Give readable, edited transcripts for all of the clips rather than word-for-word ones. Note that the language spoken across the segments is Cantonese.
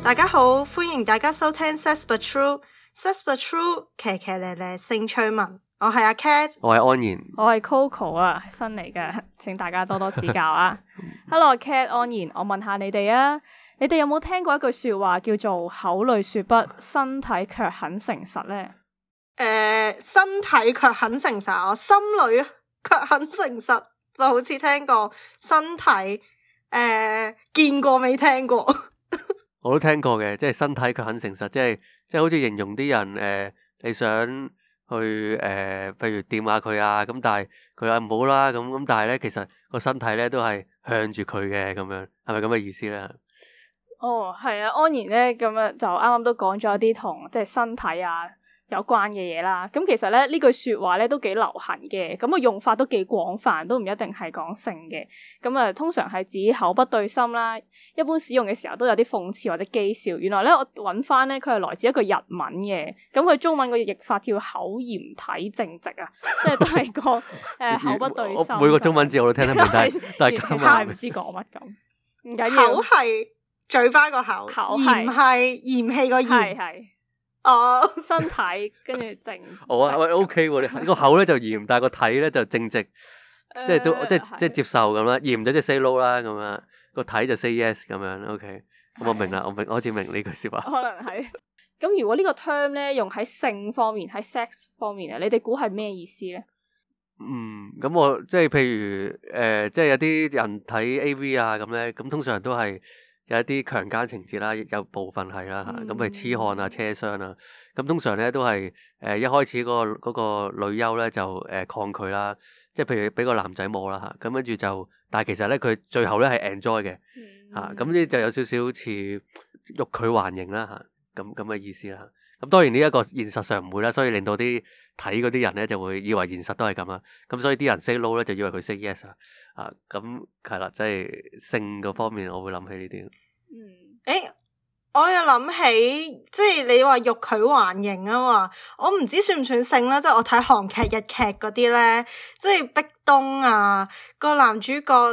大家好，歡迎大家收聽 Sex But True，Sex But True， 騎騎咧咧性趣聞。我係阿 Cat， 我係安然， 我係 Coco 啊，新嚟嘅，請大家多多指教啊。Hello Cat 安然，我問下你哋啊，你哋有冇聽過一句說話叫做口裡說不，身體卻很誠實呢？ 身體卻很誠實，我心裏卻很誠實，就好似聽過身體，見過未聽過？ 我都聽過嘅，即係身體卻很誠實，即係好似形容啲人你想去譬如掂下佢啊，咁但係佢話唔好啦，咁但係咧其實個身體咧都係向住佢嘅咁樣，係咪咁嘅意思咧？ 哦，係啊，安然咧咁樣就啱啱都講咗一啲同即係身體啊有關嘅嘢啦，咁其實咧呢句說話咧都幾流行嘅，咁個用法都幾廣泛，都唔一定係講性嘅，咁啊通常係指口不對心啦，一般使用嘅時候都有啲諷刺或者譏笑。原來咧我揾翻咧佢係來自一個日文嘅，咁佢中文個譯法叫口嫌體正直啊，即係都係個口不對心。 每個中文字我都聽得明，但係其實係唔知講乜咁，唔緊要。 口係嘴巴個口，嫌係嫌棄個嫌， 係。 哦， 身體跟住正， 我喂 OK 喎，你個口咧就嚴，但係個體咧就正直，即係都即係接受咁啦。嚴就即係 say no 啦咁樣，個體就 say yes 咁樣。OK，咁我明啦，我開始明呢句說話。 可能係咁，如果呢個 term 咧用喺性方面，喺 sex 方面啊，你哋估係咩意思咧？ 咁我即係譬如即係有啲人睇 AV 啊咁咧，咁通常都係有一啲強姦情節啦，有部分係啦嚇，咁譬如痴漢啊、車廂啊，咁通常咧都係一開始嗰個女優咧就抗拒啦，即係譬如俾個男仔摸啦嚇，咁跟住就，但係其實咧佢最後咧係 enjoy 嘅嚇，咁呢就有少少似欲拒還迎啦嚇，咁嘅意思啦。咁當然呢一個現實上唔會啦，所以令到啲睇嗰啲人咧就會以為現實都係咁啦。咁所以啲人 say no 咧就以為佢 say yes 啊。咁係啦，即係性嗰方面我會諗起呢啲。 我又諗起，即係你話欲拒還迎啊嘛，我唔知算唔算性啦。即係我睇韓劇、日劇嗰啲咧，即係壁咚啊，個男主角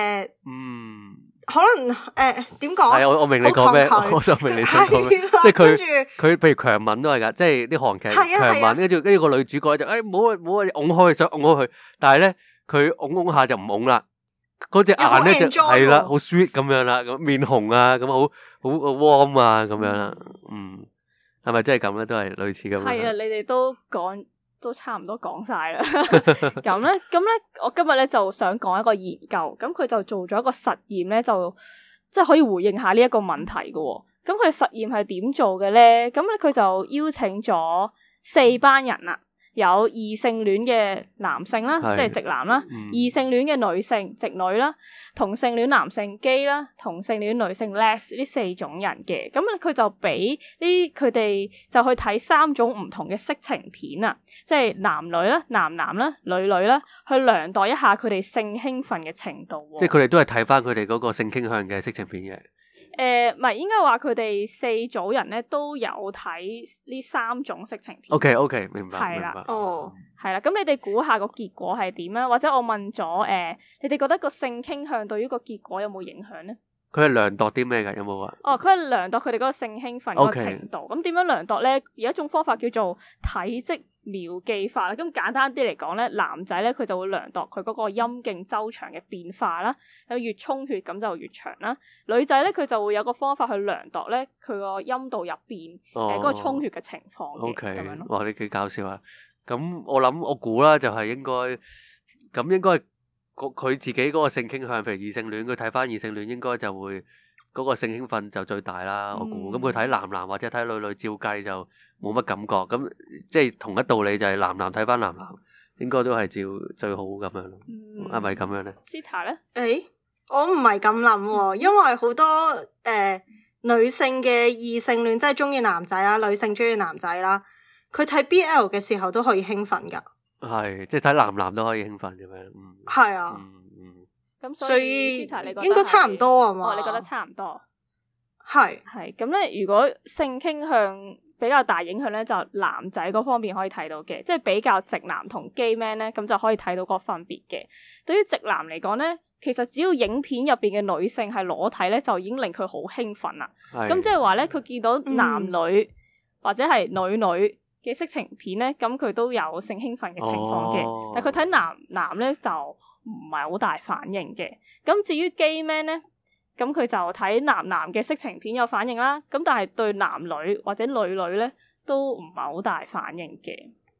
可能點講？ 係我明你講咩，我就明你想講咩。即係佢譬如強吻都係噶，即係啲韓劇強吻，跟住個女主角就唔好啊，拱開想拱開佢，但係咧佢拱下就唔拱啦，嗰隻眼咧就係啦，好 sweet 咁樣啦，咁面紅啊，咁好 warm 啊，咁樣啦，係咪真係咁咧？都係類似咁樣。 係啊，你哋都差唔多講晒啦。咁咧，我今日咧就想講一個研究，咁佢就做咗一個實驗咧，就即係可以回應下呢一個問題嘅。咁佢實驗係點做嘅咧？咁咧佢就邀請咗4班人啦。有異性戀嘅男性啦，即係直男啦；異性戀嘅女性直女啦；同性戀男性基啦；同性戀女性 les 呢4種人嘅。咁佢就俾佢哋就去睇3種唔同嘅色情片啊，即係男女啦、男男啦、女女啦，去量度一下佢哋性興奮嘅程度。 即係佢哋都係睇翻佢哋嗰個性傾向嘅色情片嘅。 唔係，應該話佢哋4組人咧都有睇呢3種色情片。 OK， 明白。 係啦，係啦。 哦， 咁你哋估下個結果係點啊？或者我問咗你哋覺得個性傾向對於個結果有冇影響咧？ 佢係量度啲咩㗎？有冇話？ 佢係量度佢哋嗰個性興奮嗰個程度。咁點樣量度咧？有一種方法叫做體積秒記法啦。咁簡單啲嚟講咧，男仔咧佢就會量度佢嗰個陰莖周長嘅變化啦。有越充血咁就越長啦。女仔咧佢就會有個方法去量度咧佢個陰道入邊嗰個充血嘅情況嘅。 OK， 咁樣咯。 哇！你幾搞笑啊！咁我估啦，就係應該佢自己嗰個性傾向，譬如異性戀，佢睇翻異性戀應該就會嗰個性興奮就最大啦。我估咁佢睇男男或者睇女女照計就冇乜感覺。咁即係同一道理，就係男男睇翻男男應該都係照最好咁樣咯。係咪咁樣咧 ？Zita 咧？ 我唔係咁諗喎，因為好多女性嘅異性戀，即係中意男仔啦，女性中意男仔啦，佢睇 BL 嘅時候都可以興奮噶。 係，即係睇男男都可以興奮咁樣。 係啊。 咁所以應該差唔多啊嘛？ 你覺得差唔多？ 係咁咧，如果性傾向比較大影響咧，就男仔嗰方面可以睇到嘅，即係比較直男同 gay man 咧，咁就可以睇到個分別嘅。對於直男嚟講咧， 其實只要影片入邊嘅女性係裸體咧，就已經令佢好興奮啦。 係咁即係話咧，佢見到男女或者係女女嘅色情片咧，咁佢都有性興奮嘅情況嘅。但係佢睇男咧就唔係好大反應嘅。咁至於 gay man 咧，咁佢就睇男嘅色情片有反應啦。咁但係對男女或者女女咧都唔係好大反應嘅。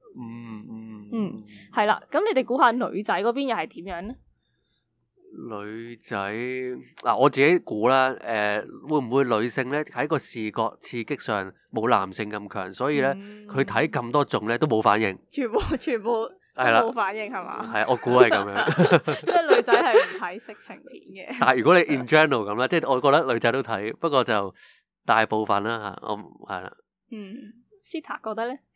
係啦。咁你哋估下女仔嗰邊又係點樣咧？ 女仔嗱，我自己估啦，會唔會女性咧喺個視覺刺激上冇男性咁強，所以咧佢睇咁多種咧都冇反應，全部都冇反應係嘛？係，我估係咁樣。 因為女仔係唔睇色情片嘅。 但係如果你 in general 咁啦，即係我覺得女仔都睇，不過就大部分啦嚇，我係啦。 Zita 覺得咧？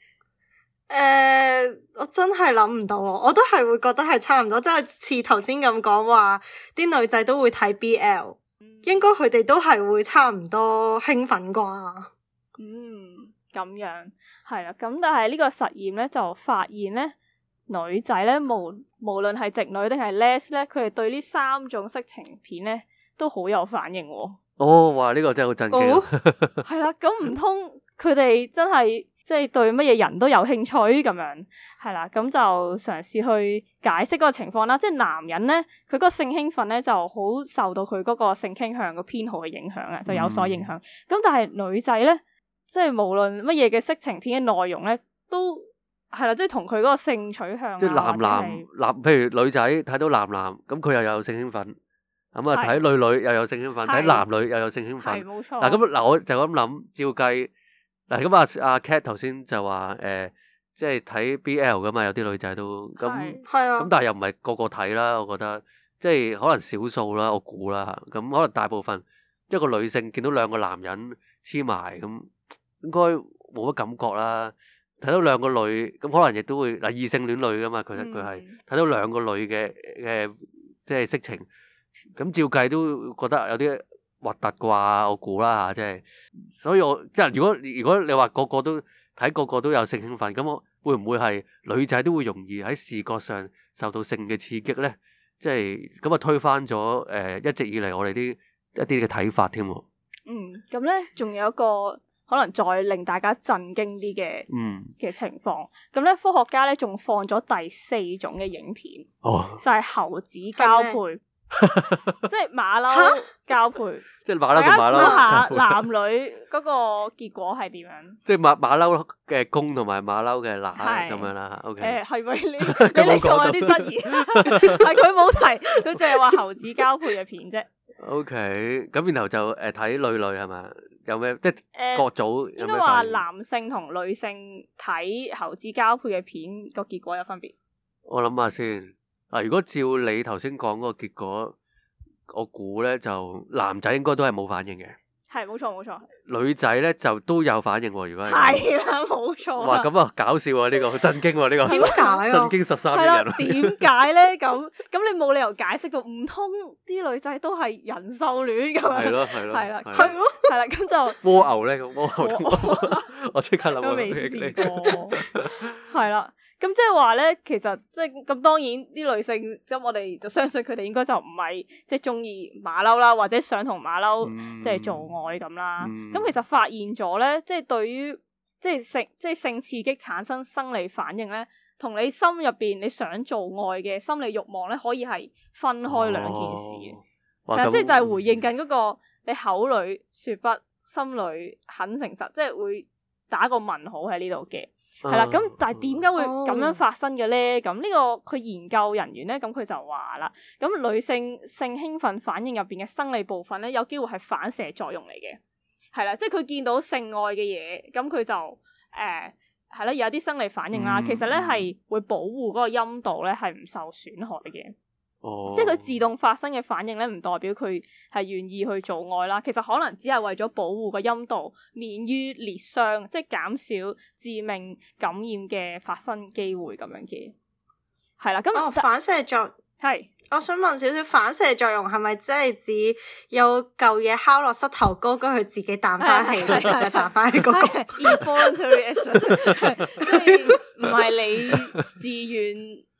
我真係諗唔到，我都係會覺得係差唔多，即係似頭先咁講話，啲女仔都會睇 BL，應該佢哋都係會差唔多興奮啩。 咁樣係啦，咁但係呢個實驗咧就發現咧，女仔咧無論係直女定係 les 咧，佢哋對呢3種色情片咧都好有反應喎。 哇！呢個真係好震驚。 係啦，咁唔通佢哋真係即係對乜嘢人都有興趣咁樣？係啦，咁就嘗試去解釋嗰個情況啦。即係男人咧，佢嗰個性興奮咧就好受到佢嗰個性傾向個偏好嘅影響啊，就有所影響。咁但係女仔咧，即係無論乜嘢嘅色情片嘅內容咧，都係啦，即係同佢嗰個性取向即係男，譬如女仔睇到男，咁佢又有性興奮。咁啊，睇女又有性興奮，睇男女又有性興奮。係冇錯。嗱，我就咁諗，照計嗱，咁阿 Cat 頭先就話即係睇 BL 噶嘛，有啲女仔都咁，係啊。咁但係又唔係個個睇啦，我覺得即係可能少數啦，我估啦嚇。咁可能大部分一個女性見到兩個男人黐埋，咁應該冇乜感覺啦。睇到兩個女，咁可能亦都會嗱異性戀女噶嘛，佢係睇到兩個女嘅即係色情。咁照計都覺得有啲核突啩，我估啦嚇，即係，所以我即係如果你話個個都睇個個都有性興奮，咁我會唔會係女仔都會容易喺視覺上受到性嘅刺激咧？即係咁啊，推翻咗一直以嚟我哋一啲嘅睇法添喎。 咁咧仲有一個可能再令大家震驚啲嘅情況。咁咧科學家咧仲放咗第4種嘅影片，就係猴子交配。即係馬騮交配，即係馬騮同馬騮。大家估下男女嗰個結果係點樣？即係馬騮嘅公同埋馬騮嘅乸咁樣啦。OK，係咪你呢個有啲質疑？係佢冇提，佢淨係話猴子交配嘅片啫。OK，咁然後就睇女係咪？有咩即係各組？應該話男性同女性睇猴子交配嘅片個結果有分別。我諗下先。如果照你頭先講嗰個結果，我估咧就男仔應該都係冇反應嘅。係，冇錯。女仔咧就都有反應喎。如果係啦，冇錯。哇，咁啊搞笑啊！呢個震驚喎，呢個點解？震驚13億人。點解咧？咁你冇理由解釋到，唔通啲女仔都係人獸戀咁樣？係咯。係啦，咁就蝸牛咧，蝸牛。我即刻諗都未試過。係啦。咁即係話咧，其實即係咁，當然啲女性即係我哋就相信佢哋應該就唔係即係中意馬騮啦，或者想同馬騮即係做愛咁啦。咁其實發現咗咧，即係對於即係性刺激產生生理反應咧，同你心入邊你想做愛嘅心理慾望咧，可以係分開兩件事嘅。係即係就係回應緊嗰個你口裏說不，心裏很誠實，即係會打個問號喺呢度嘅。係啦，咁但係點解會咁樣發生嘅咧？咁呢個佢研究人員咧，咁佢就話啦，咁女性性興奮反應入邊嘅生理部分咧，有機會係反射作用嚟嘅。係啦，即係佢見到性愛嘅嘢，咁佢就係啦，有啲生理反應啦。其實咧係會保護嗰個陰道咧係唔受損害嘅。即係佢自動發生嘅反應咧，唔代表佢係願意去做愛啦。其實可能只係為咗保護個陰道免於裂傷，即係減少致命感染嘅發生機會咁樣嘅。係啦，咁反射作係， 我想問少少反射作用係咪即係指有嚿嘢敲落膝頭哥，跟佢自己彈翻起，隻腳彈翻起嗰個 involuntary action，即係唔係你自願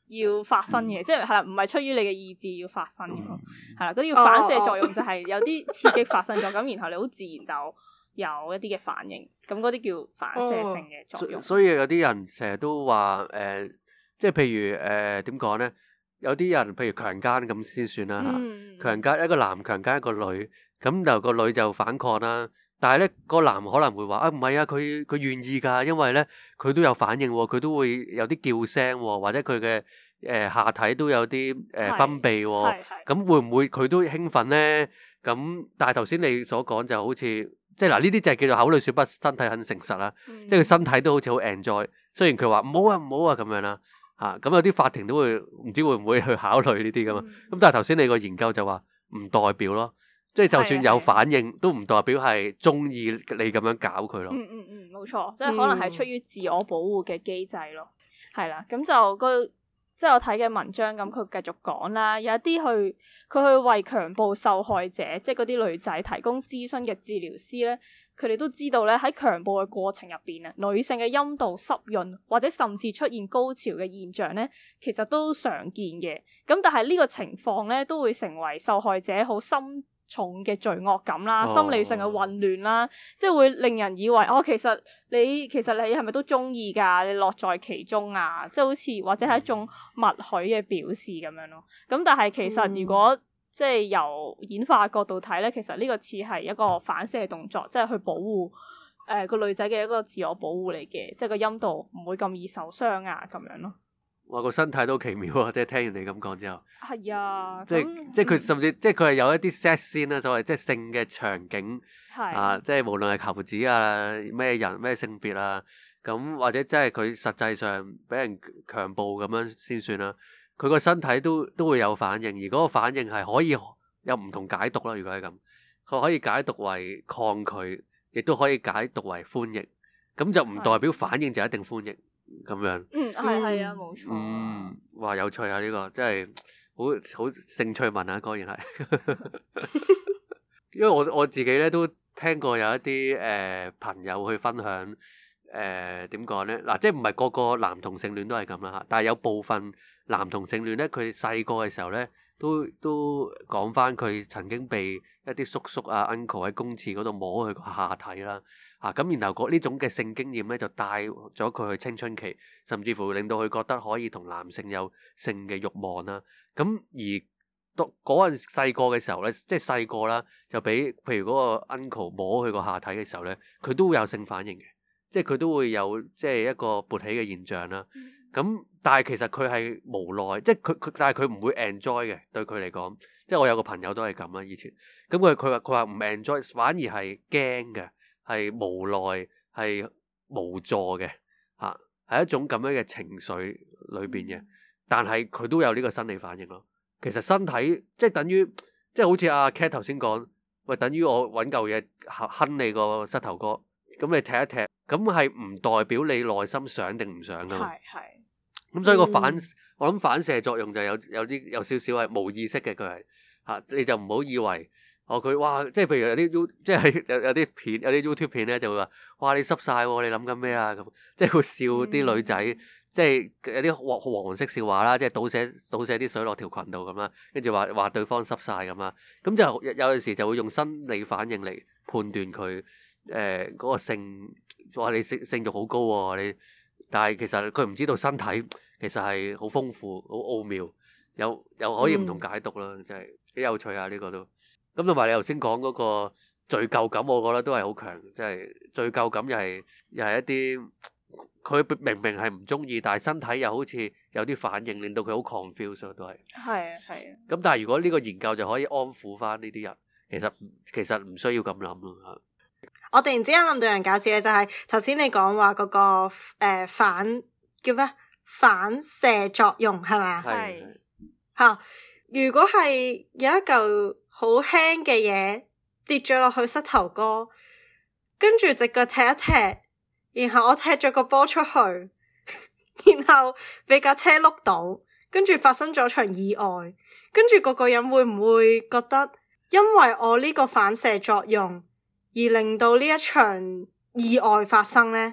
要發生嘅，即係啦，唔係出於你嘅意志要發生嘅，係啦，嗰啲叫反射作用，就係有啲刺激發生咗，咁然後你好自然就有一啲嘅反應，咁嗰啲叫反射性嘅作用。 所以有啲人成日都話即係譬如點講咧？有啲人譬如強姦咁先算啦嚇，強姦一個男強姦一個女，咁就個女就反抗啦。但係咧，個男可能會話啊，唔係啊，佢願意㗎，因為咧佢都有反應喎，佢都會有啲叫聲喎，或者佢嘅下體都有啲分泌喎，咁會唔會佢都興奮咧？咁但係頭先你所講就好似即係嗱，呢啲就係叫做口裡説不，身體很誠實啦，即係佢身體都好似好 enjoy，雖然佢話唔好啊唔好啊咁樣啦嚇，咁有啲法庭都會唔知會唔會去考慮呢啲㗎嘛，咁但係頭先你個研究就話唔代表咯。即係就算有反應，都唔代表係中意你咁樣搞佢咯。 冇錯，即係可能係出於自我保護嘅機制咯。係啦，咁就即係我睇嘅文章咁，佢繼續講啦，有一啲佢去為強暴受害者，即係嗰啲女仔提供諮詢嘅治療師咧，佢哋都知道咧喺強暴嘅過程入邊啊，女性嘅陰道濕潤或者甚至出現高潮嘅現象咧，其實都常見嘅。咁但係呢個情況咧，都會成為受害者好深重嘅罪惡感啦，心理上嘅混亂啦，即係會令人以為其實你係咪都中意㗎？你樂在其中啊，即係好似或者係一種默許嘅表示咁樣咯。咁但係其實如果即係由演化角度睇咧，其實呢個似係一個反射動作，即係去保護個女仔嘅一個自我保護嚟嘅，即係個陰道唔會咁易受傷啊咁樣咯。 哇！個身體都奇妙啊！即係聽完你咁講之後， 係啊， 即係佢甚至即係佢係有一啲 sex scene啦，所謂即係性嘅場景啊，即係無論係求子啊，咩人咩性別啊，咁或者即係佢實際上俾人強暴咁樣先算啦。佢個身體都會有反應，而嗰個反應係可以有唔同解讀啦。如果係咁，佢可以解讀為抗拒，亦都可以解讀為歡迎。咁就唔代表反應就一定歡迎。咁樣， 係啊，冇錯。 哇，有趣啊！呢個真係好興趣聞啊，當然係。因為我自己咧都聽過有一啲朋友去分享點講咧嗱，即係唔係個個男同性戀都係咁啦嚇，但係有部分男同性戀咧，佢細個嘅時候咧都講翻佢曾經被一啲叔叔啊 uncle 喺公廁嗰度摸佢個下體啦。咁然後呢種嘅性經驗咧，就帶咗佢去青春期，甚至乎令到佢覺得可以同男性有性嘅慾望啦。咁而嗰陣細個嘅時候咧，即係細個啦，就俾譬如嗰個 uncle 摸佢個下體嘅時候咧，佢都會有性反應嘅，即係佢都會有即係一個勃起嘅現象啦。咁但係其實佢係無奈，即係但係佢唔會 enjoy 嘅，對佢嚟講，即係我有個朋友都係咁啦，以前咁佢話唔 enjoy， 反而係驚嘅。係無奈，係無助嘅，係一種咁樣嘅情緒裏邊嘅，但係佢都有呢個生理反應咯。其實身體即係等於，即係好似阿 Cat 頭先講，喂，等於我揾嚿嘢哼你個膝頭哥，咁你踢一踢，咁係唔代表你內心想定唔想噶嘛？係。咁所以個我諗反射作用就有少少係冇意識嘅，佢係你就唔好以為。佢哇，即係譬如有啲即係有啲片，有啲 YouTube 片咧，就會話：哇，你濕晒喎，你諗緊咩啊？咁即係會笑啲女仔，即係有啲黃色笑話啦，即係倒瀉啲水落條裙度咁啦，跟住話對方濕晒咁啦。咁就有陣時就會用生理反應嚟判斷佢嗰個性，話你性慾好高喎，但係其實佢唔知道身體其實係好豐富、好奧妙，又可以唔同解讀啦，真係幾有趣啊！呢個都。咁同埋你頭先講嗰個罪疚感，我覺得都係好強，即係罪疚感又係一啲佢明明係唔中意，但係身體又好似有啲反應，令到佢好 confused 都係。係啊。咁但係如果呢個研究就可以安撫翻呢啲人，其實唔需要咁諗咯。 我突然之間諗到樣搞笑嘅就係頭先你講話嗰個叫咩反射作用係咪啊？係。嚇！如果係有一嚿好輕嘅嘢跌咗落去膝頭哥，跟住隻腳踢一踢，然後我踢咗個波出去，然後俾架車碌到，跟住發生咗場意外，跟住個人會唔會覺得因為我呢個反射作用而令到呢一場意外發生呢？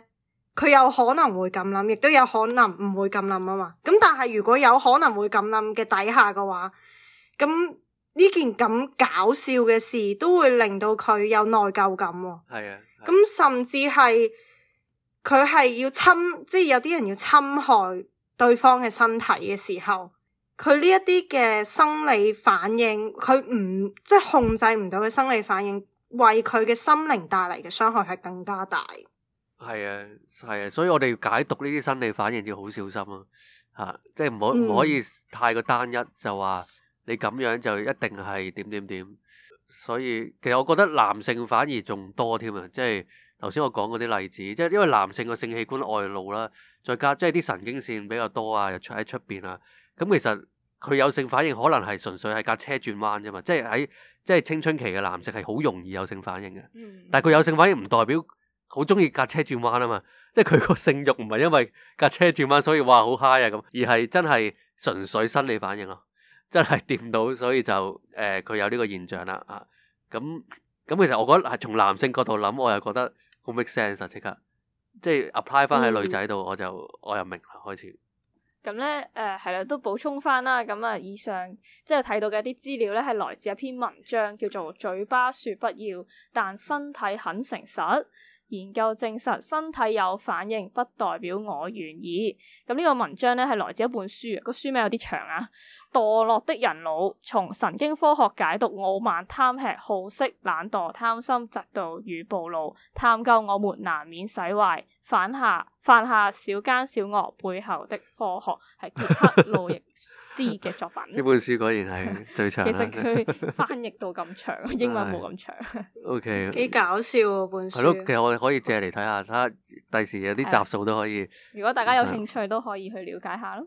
佢有可能會咁諗，亦都有可能唔會咁諗啊嘛。咁但係如果有可能會咁諗嘅底下嘅話，咁呢件咁搞笑嘅事都會令到佢有內疚感喎。 係啊， 咁甚至係佢係要即係有啲人要侵害對方嘅身體嘅時候，佢呢一啲嘅生理反應，佢唔即係控制唔到嘅生理反應，為佢嘅心靈帶嚟嘅傷害係更加大。 係啊，係啊，所以我哋要解讀呢啲生理反應要好小心啊！吓，即係唔可以太過單一，就話你咁樣就一定係點點點。所以其實我覺得男性反而仲多添啊！即係頭先我講嗰啲例子，即係因為男性個性器官外露啦，再加即係啲神經線比較多啊，又喺出邊啊，咁其實佢有性反應可能係純粹係架車轉彎啫嘛，即係青春期嘅男性係好容易有性反應嘅，但係佢有性反應唔代表好中意架車轉彎啊嘛，即係佢個性慾唔係因為架車轉彎所以哇好 high 啊咁，而係真係純粹生理反應咯，真係掂到所以就佢有呢個現象啦啊，咁其實我覺得係從男性角度諗，我又覺得好 make sense 啊，即刻即係 apply 翻喺女仔度，我又明啦開始。 咁咧，係啦，都補充翻啦。咁啊，以上即係睇到嘅一啲資料咧，係來自一篇文章，叫做《嘴巴說不要，但身體很誠實》。研究證實，身體有反應不代表我願意。咁呢個文章咧係來自一本書，個書名有啲長啊。墮落的人腦，從神經科學解讀傲慢、貪吃、好色、懶惰、貪心、嫉妒與暴露，探究我們難免使壞、犯下小奸小惡背後的科學，係傑克路易斯嘅作品。 呢本書果然係最長。 其實佢翻譯到咁長，英文冇咁長。 OK， 幾搞笑啊本書。 係咯，其實我哋可以借嚟睇下，睇下第時有啲集數都可以。 如果大家有興趣，都可以去了解下咯。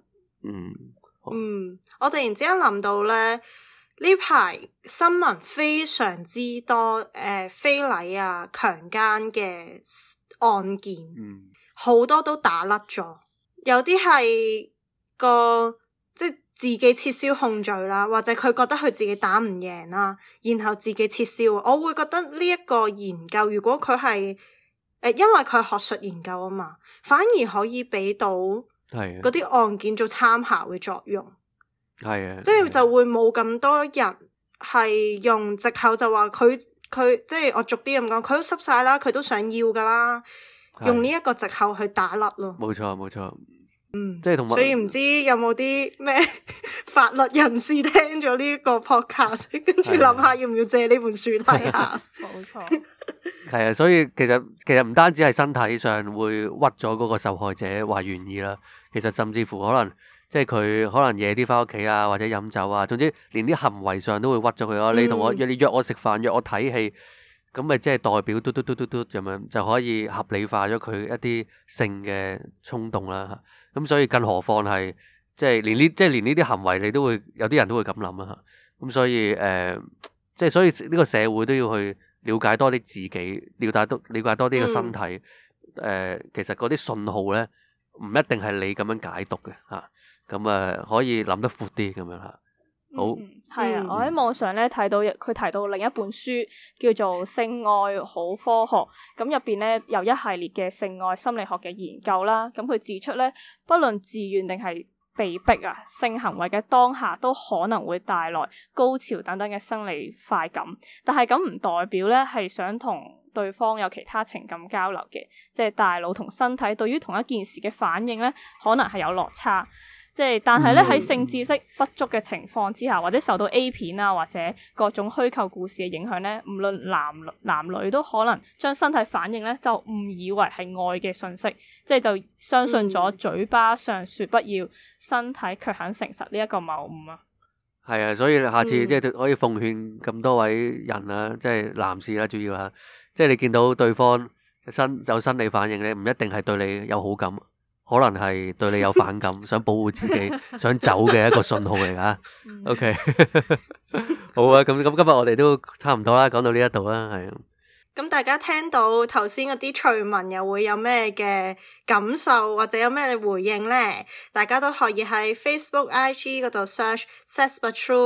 我突然之間諗到咧，呢排新聞非常之多非禮啊、強姦嘅案件，好多都打甩咗，有啲係即係自己撤銷控罪啦，或者佢覺得佢自己打唔贏啦，然後自己撤銷。我會覺得呢一個研究，如果佢係因為佢係學術研究啊嘛，反而可以俾到嗰啲案件做參考嘅作用。係啊，即係就會冇咁多人係用藉口就話佢即係我逐啲咁講，佢都濕晒啦，佢都想要噶啦，用呢一個藉口去打甩咯。冇錯。即係同埋，所以唔知有冇啲咩法律人士聽咗呢個 podcast， 跟住諗下要唔要借呢本書睇下。冇錯。係啊，所以其實唔單止係身體上會屈咗嗰個受害者話願意啦，其實甚至乎可能即係佢可能夜啲翻屋企啊，或者飲酒啊，總之連啲行為上都會屈咗佢咯。你同我你約我食飯，約我睇戲，咁咪即係代表嘟咁樣就可以合理化咗佢一啲性嘅衝動啦。咁所以更何況係即係連呢啲行為你都會有啲人都會咁諗啊。咁所以即係所以呢個社會都要去了解多啲自己，了解多啲個身體。其實嗰啲信號咧唔一定係你咁樣解讀嘅嚇。咁可以諗得闊啲咁樣嚇。好，係啊！我喺網上咧睇到佢提到另一本書叫做《性愛好科學》，咁入邊咧有一系列嘅性愛心理學嘅研究啦。咁佢指出咧，不論自願定係被逼啊，性行為嘅當下都可能會帶來高潮等等嘅生理快感，但係咁唔代表咧係想同對方有其他情感交流嘅，即係大腦同身體對於同一件事嘅反應咧，可能係有落差。但係咧喺性知識不足嘅情況之下，或者受到 A 片啊或者各種虛構故事嘅影響咧，無論男女都可能將身體反應咧就誤以為係愛嘅訊息，就相信咗嘴巴上說不要，身體卻很誠實呢一個謬誤啊。係啊，所以下次即係可以奉勸咁多位人啊，即係男士啦，主要啊，即係你見到對方有生理反應咧，唔一定係對你有好感。可能係對你有反感，想保護自己，想走嘅一個信號嚟噶。OK， 好啊，咁今日我哋都差唔多啦，講到呢一度啦，係。咁大家聽到頭先嗰啲趣聞，又會有咩嘅感受，或者有咩回應呢？大家都可以喺 Facebook、IG 嗰度 search Sex But True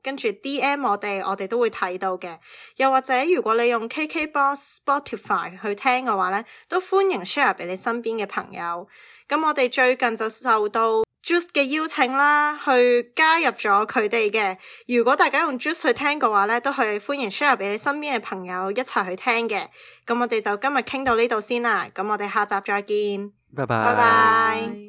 跟住 DM 我哋都會睇到嘅。又或者如果你用 KKBox、Spotify 去聽嘅話呢，都歡迎 share 俾你身邊嘅朋友。咁我哋最近就受到 Juice 嘅邀請啦，去加入咗佢哋嘅。如果大家用 Juice 去聽嘅話呢，都係歡迎 share 俾你身邊嘅朋友一齊去聽嘅。咁我哋就今日傾到呢度先啦，咁我哋下集再見， 拜拜。 拜拜。